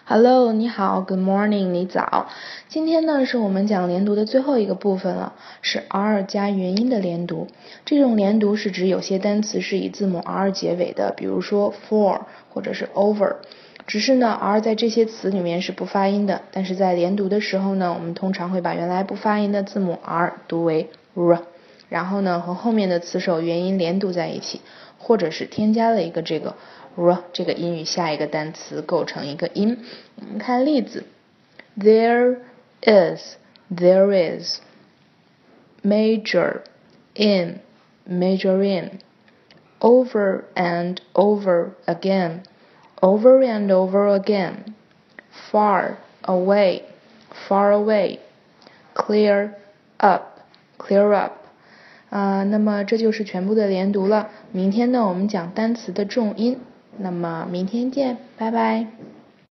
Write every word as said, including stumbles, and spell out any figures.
Hello， 你好 ，Good morning， 你早。今天呢是我们讲连读的最后一个部分了，是 R 加元音的连读。这种连读是指有些单词是以字母 R 结尾的，比如说 for 或者是 over。只是呢 R 在这些词里面是不发音的，但是在连读的时候呢，我们通常会把原来不发音的字母 R 读为 R， 然后呢和后面的词首元音连读在一起，或者是添加了一个这个R 这个音与下一个单词构成一个音。我们看例子 There is, there is Major, in, major in Over and over again, over and over again Far, away, far away Clear up, clear up 呃，那么这就是全部的连读了。明天呢，我们讲单词的重音。那么明天见，拜拜。